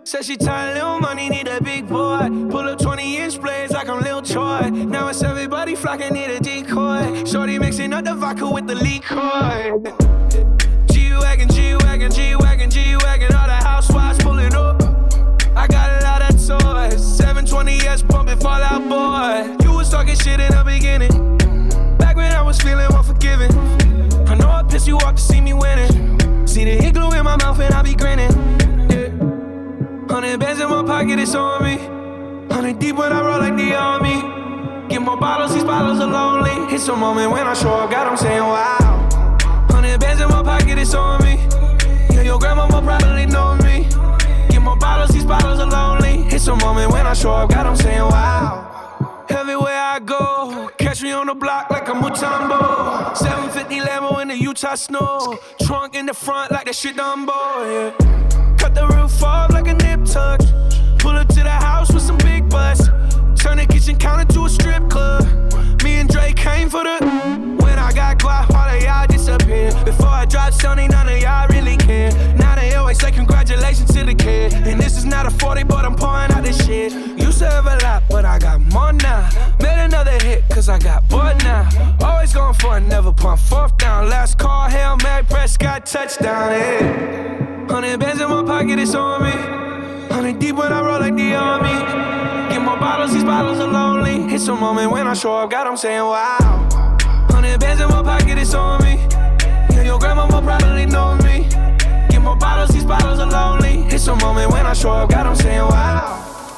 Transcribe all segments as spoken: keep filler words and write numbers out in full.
Said she tired, little money, need a big boy. Pull up twenty inch blades like I'm Lil Troy. Now it's everybody flocking, need a decoy. Shorty mixing up the vodka with the liquor. G-Wagon, G-Wagon, G-Wagon, G-Wagon. All the housewives pulling up. I got a lot of toys. seven twenty S pumping Fall Out Boy. You was talking shit in the beginning. Back when I was feeling unforgiving. I know I pissed you off to see me winning. See the hit glue in my mouth and I be grinning. Hundred bands in my pocket, it's on me. Hundred deep when I roll like the army. Get more bottles, these bottles are lonely. It's a moment when I show up, God, I'm saying wow. Hundred bands in my pocket, it's on me. Yeah, your grandmama probably know me. Get more bottles, these bottles are lonely. It's a moment when I show up, God, I'm saying wow. Everywhere I go, catch me on the block like a Mutombo. seven fifty Lambo in the Utah snow. Trunk in the front like that shit Dumbo, yeah. Cut the roof off like a nip tuck. Pull up to the house with some big butts. Turn the kitchen counter to a strip club. Me and Drake came for the. When I got guap, all of y'all disappeared. Before I dropped Sony, none of y'all really care. Now they always say congratulations to the kid. And this is not a forty, but I'm pouring out this shit. Used to have a lot, but I got more now. Made another hit, cause I got bored now. Always going for it, never pump fourth down. Last call, Hail Mary, Prescott, touchdown, yeah. Hundred bands in my pocket, it's on me. Hundred deep when I roll like the army. Get more bottles, these bottles are lonely. It's a moment when I show up, God, I'm saying wow. Hundred bands in my pocket, it's on me. Yeah, your grandmama probably know me. Get more bottles, these bottles are lonely. It's a moment when I show up, God, I'm saying wow.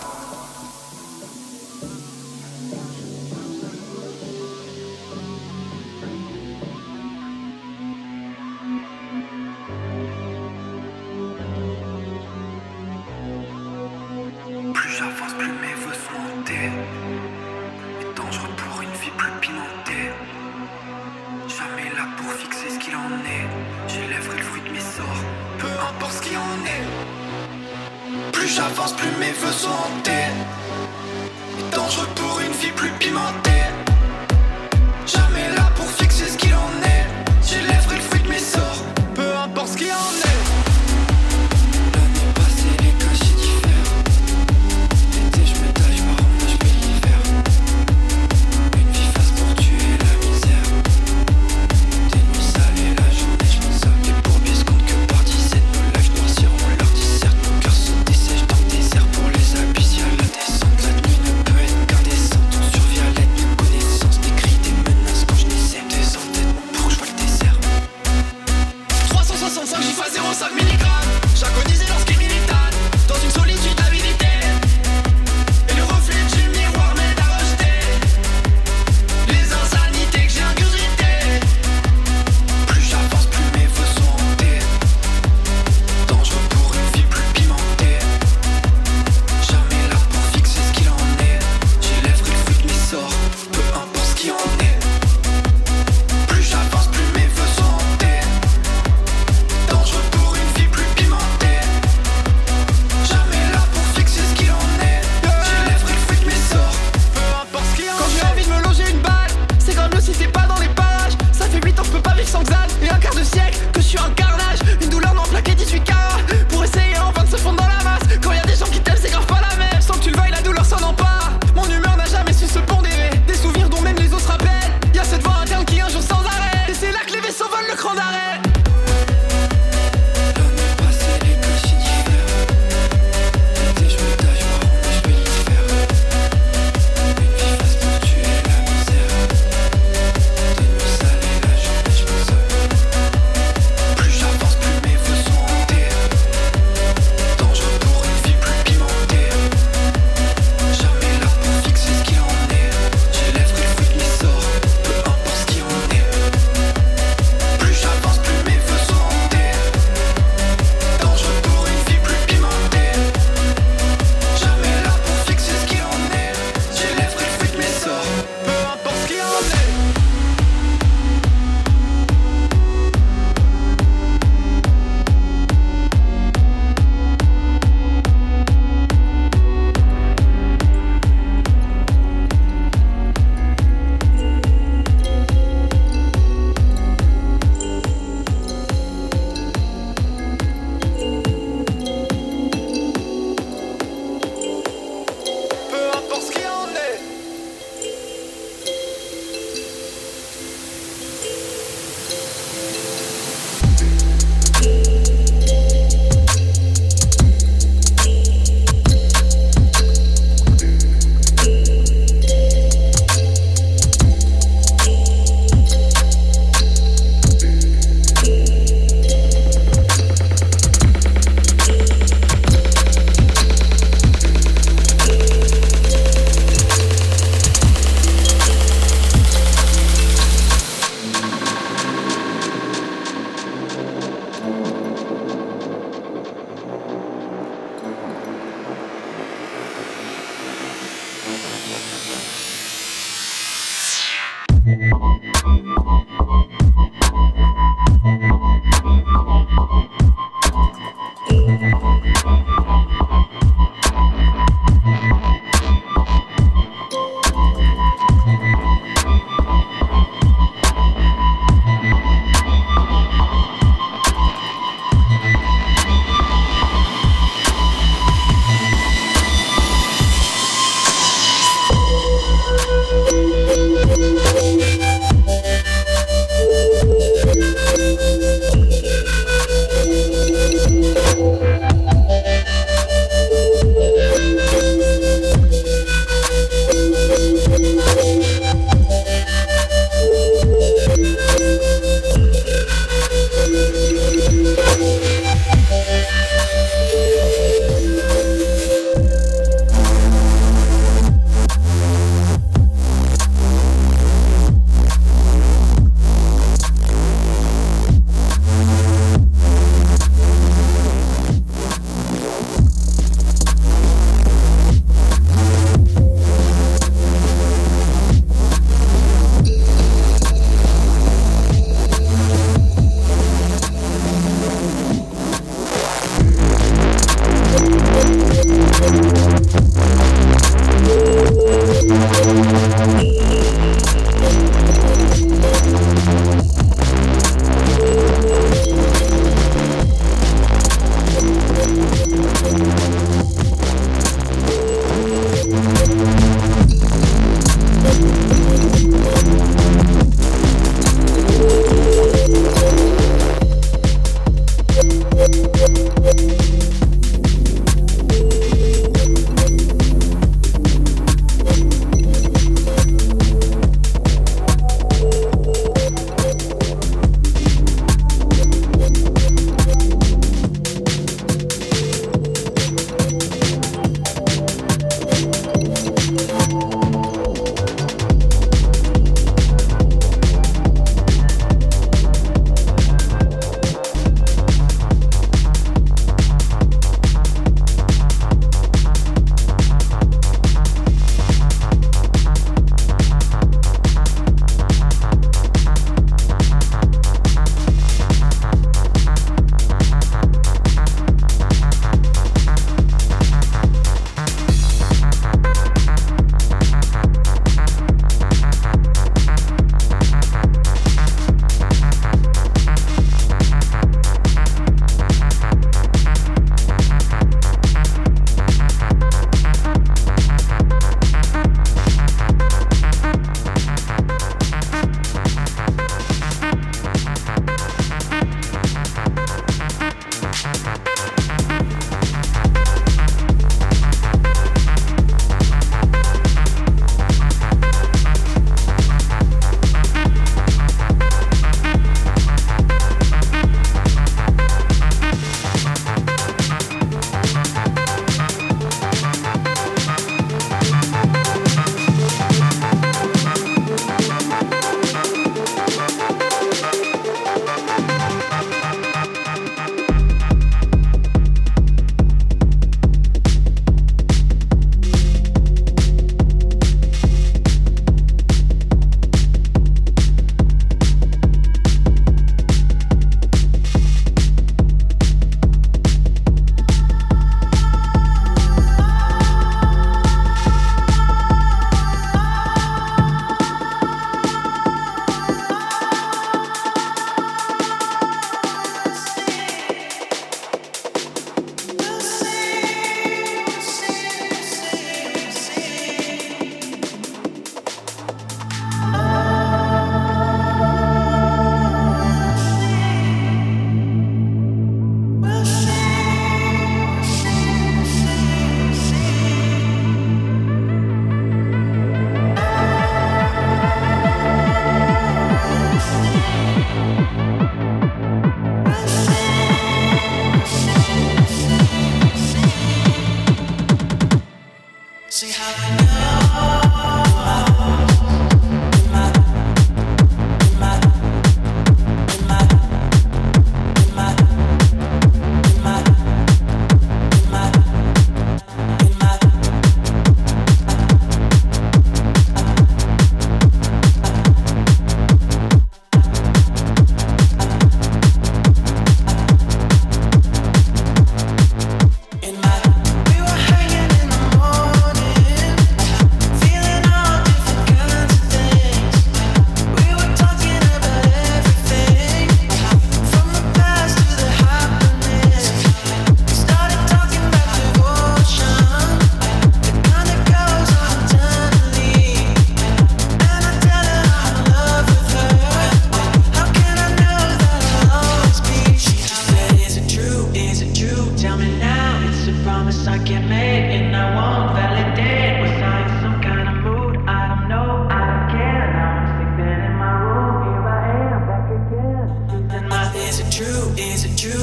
J'avance plus mes vœux sont montés. Et dangereux pour une vie plus pimentée. Jamais là pour fixer ce qu'il en est. J'élèverai le fruit de mes sorts, peu importe ce qu'il en est. Plus j'avance, plus mes vœux sont hantés. Et dangereux pour une vie plus pimentée. Jamais là pour fixer ce qu'il en est. J'élèverai le fruit de mes sorts, peu importe ce qu'il en est. Plus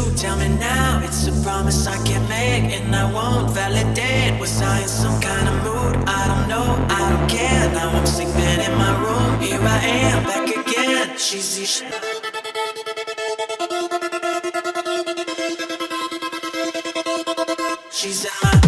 you? Tell me now. It's a promise I can't make, and I won't validate. Was I in some kind of mood? I don't know, I don't care. Now I'm sleeping in my room. Here I am, back again. She's each. She's at my.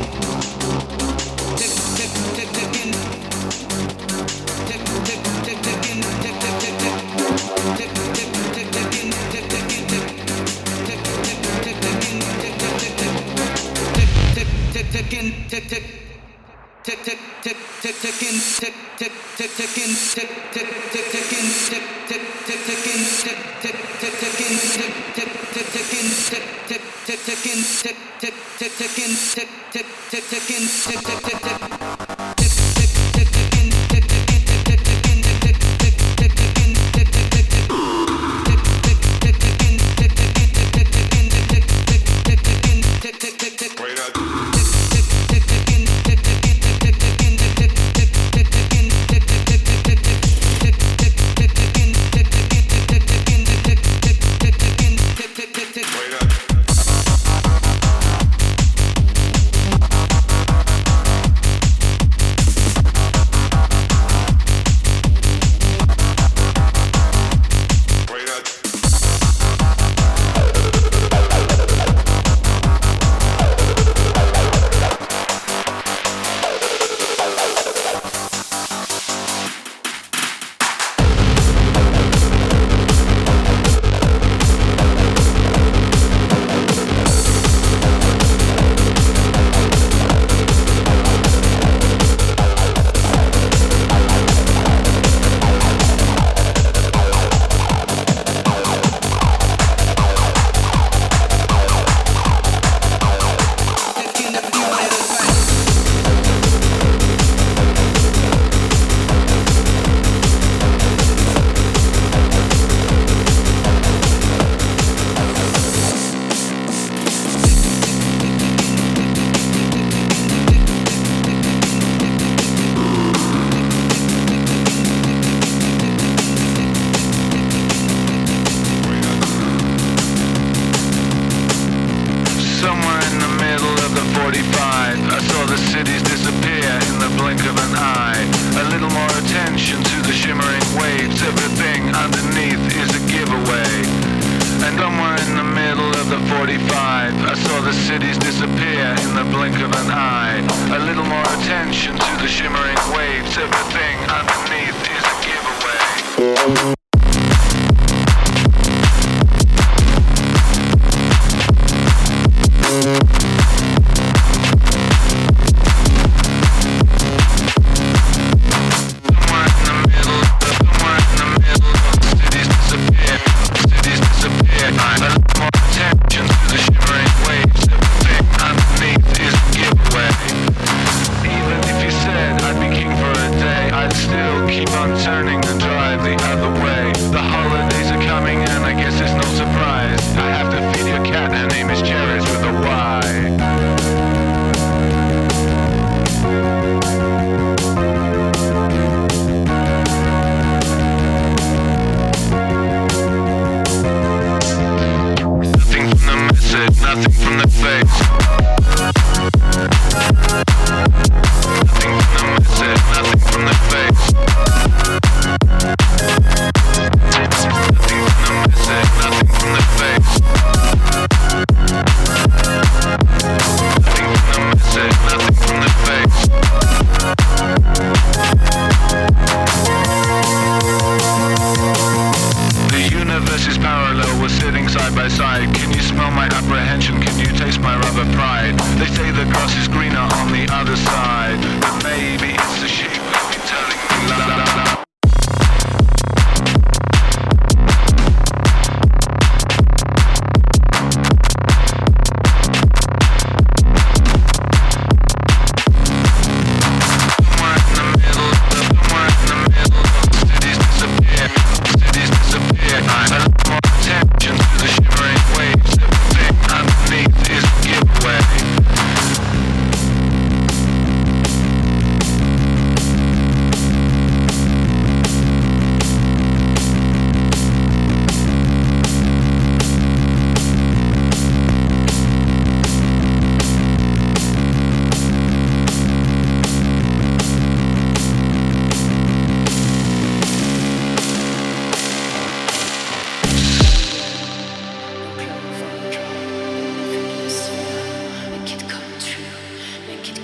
I'd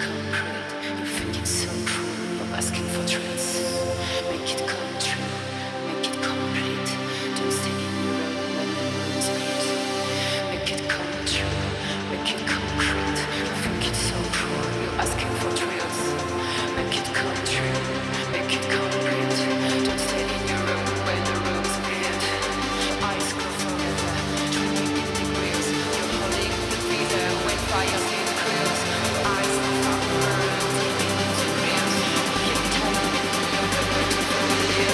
Yeah.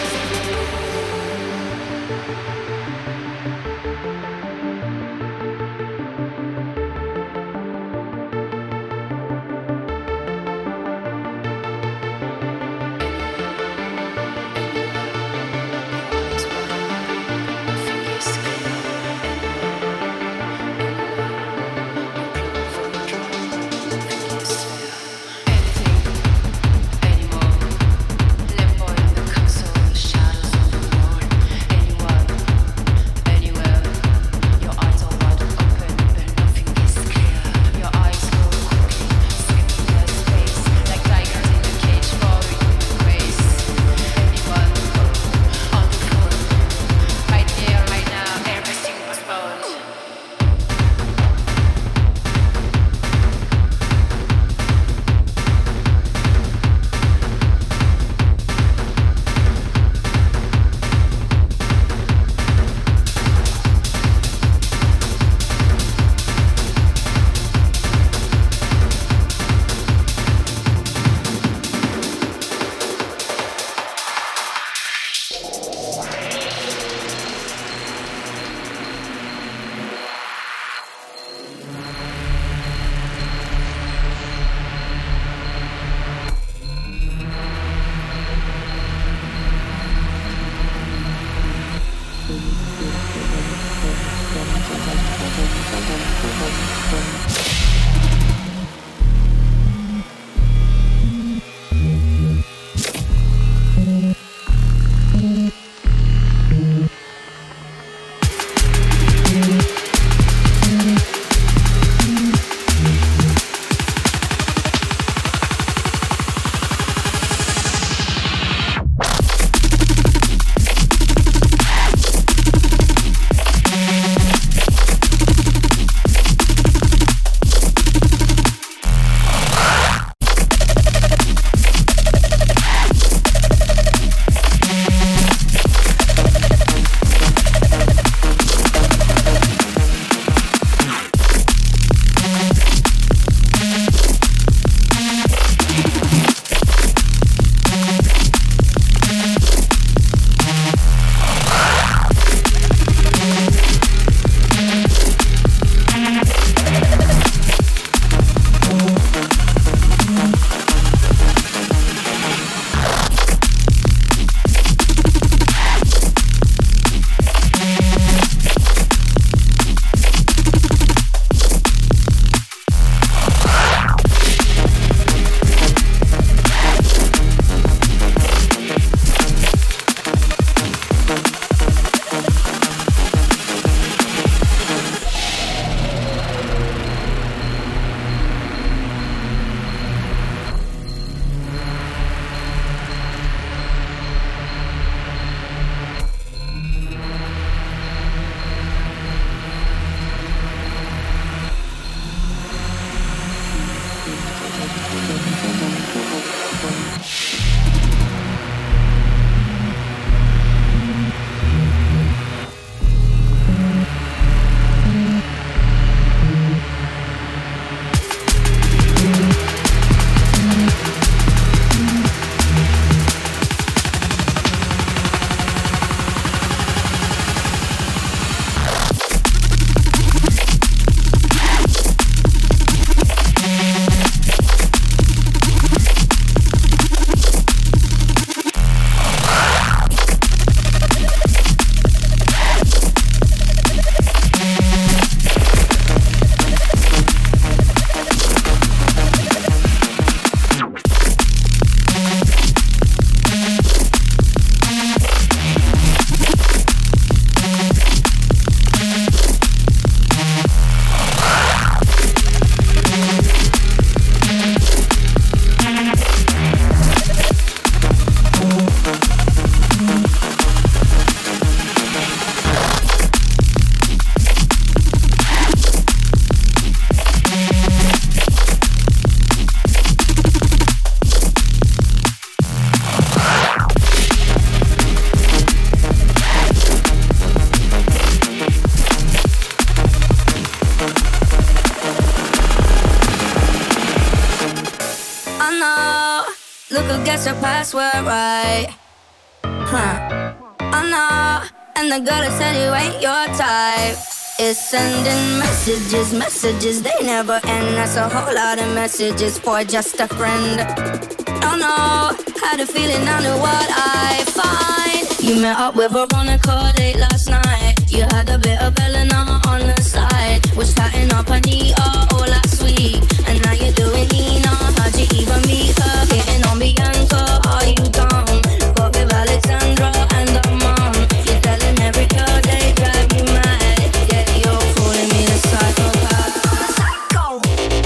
no, look who gets her password right. Huh. Oh no, and the girl that said you ain't your type is sending messages, messages, they never end. That's a whole lot of messages for just a friend. Oh no, had a feeling I knew what I find. You met up with her on a call date last night. You had a bit of Eleanor on the side. Was chatting up Anita all last week, and now you're doing Nina. How'd you even meet her? Hitting on Bianca, are you dumb? Got with Alexandra and her mom. You're telling every girl they drive you mad. Yeah, you're calling me a psychopath. Psycho.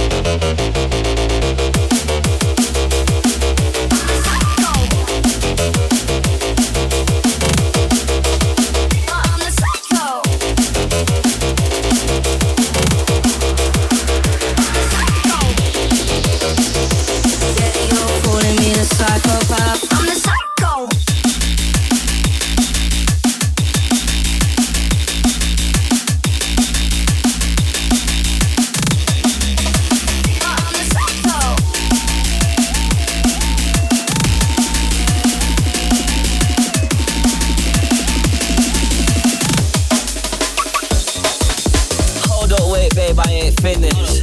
Psychopath, I'm the psycho. I'm the psycho. Hold up, wait, babe, I ain't finished.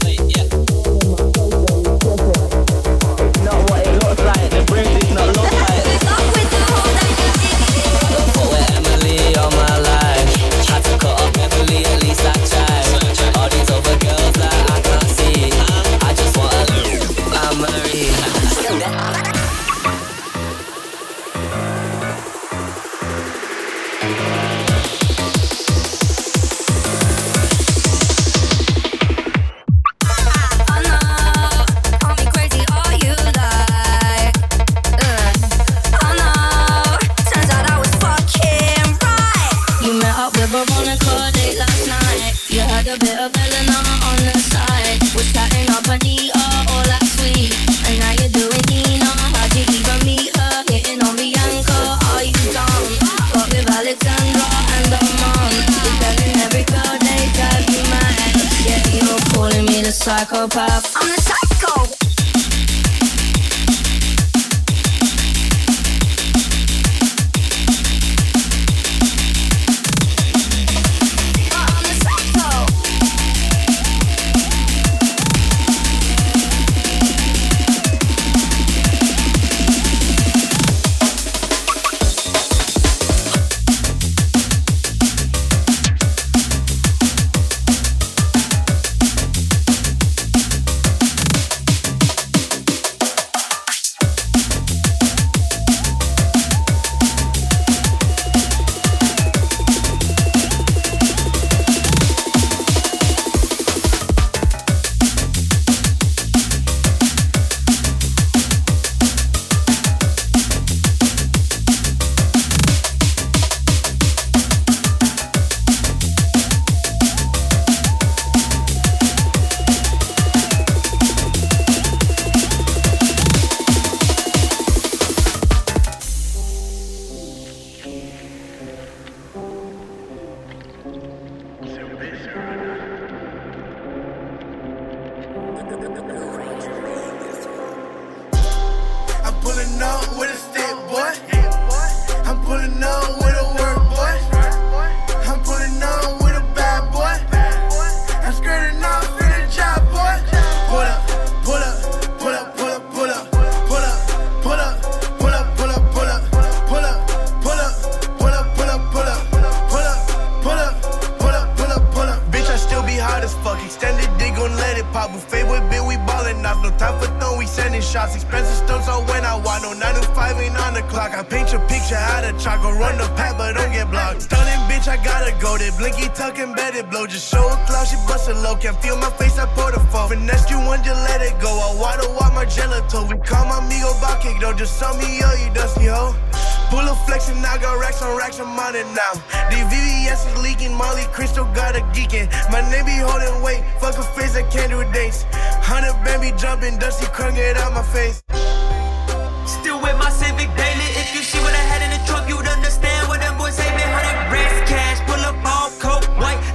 Psychopath, I'm the psycho.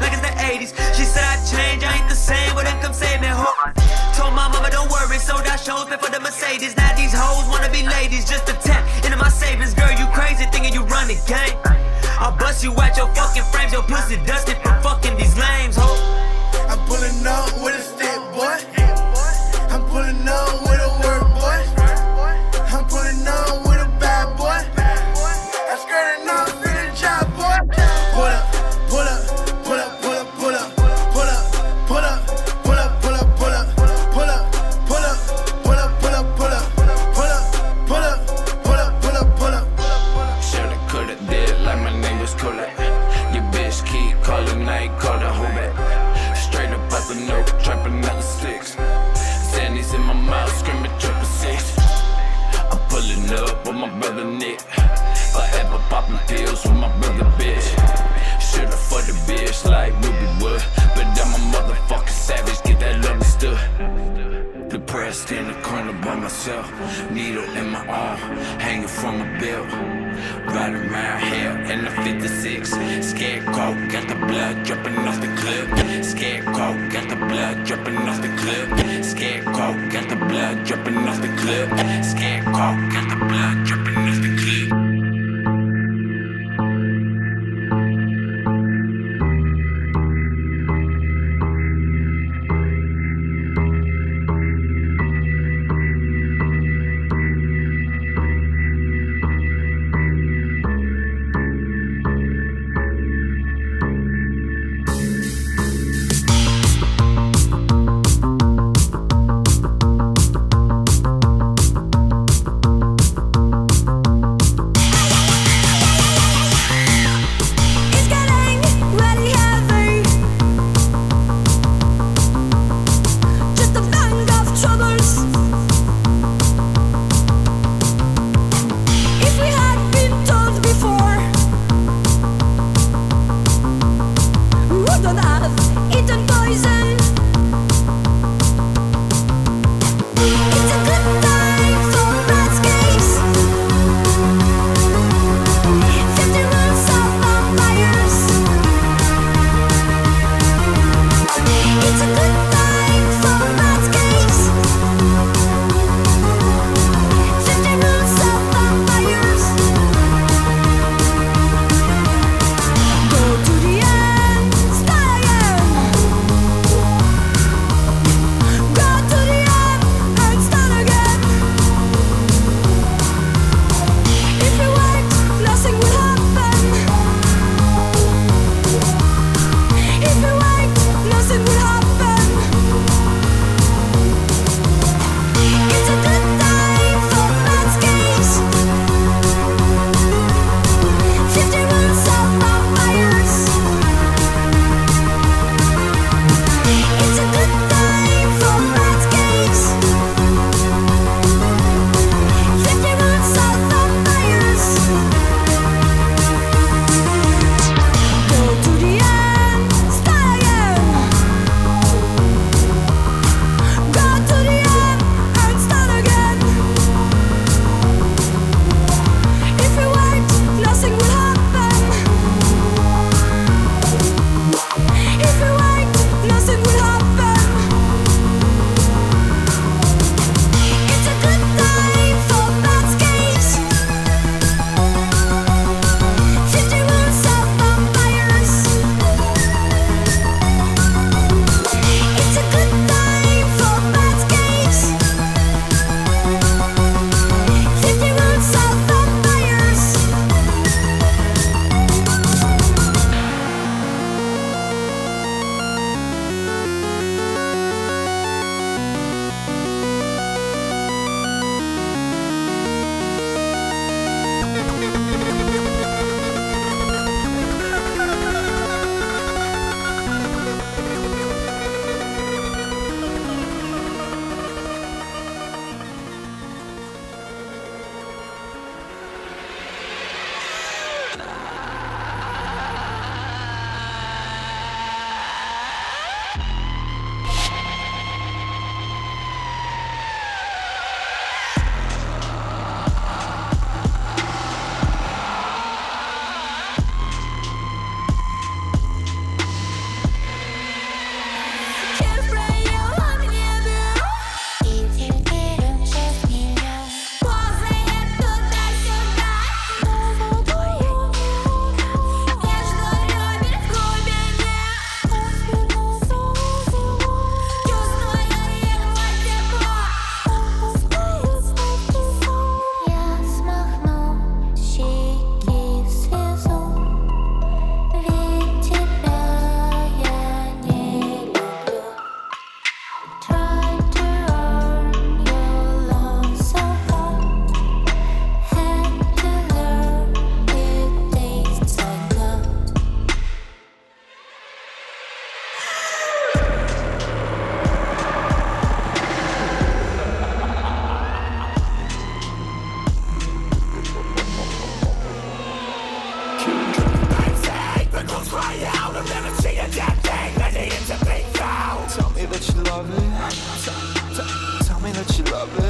Show nose, pay for the Mercedes. Now these hoes wanna be ladies, just a tap into my savings. Girl, you crazy, thinking you run the game. I'll bust you out your fucking frames, your pussy dusted from fucking these lames, ho. I'm pulling up with a stick, boy. I'm pulling up with a work, boy. I'm pulling up with a bad boy. I'm skirting off in the job, boy. Pull up, pull up, pull up, pull up, pull up, pull up, pull up, pull up, pull up, pull up, pull up, pull up, pull up, pull up, pull up, pull up, pull up, pull up, pull up, pull up. Shoulda, coulda, did like my name was Kodak. Your bitch keep calling, I ain't called a hoe back. Straight up out the note, trapping out the sticks. Sandy's in my mouth, screaming triple six. I'm pulling up with my brother Nick. Forever popping pills with my brother bitch. Shoulda for the bitch like Ruby Wood, but I'm a motherfucking savage, get that understood. Depressed in the corner by myself, needle in my arm, hanging from a belt. Riding around here in the fifty-six. Scarecrow got the blood dripping off the clip. Scarecrow got the blood dripping off the clip. Scarecrow got the blood dripping off the clip. Scarecrow got the blood dripping off the clip.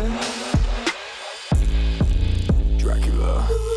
Dracula.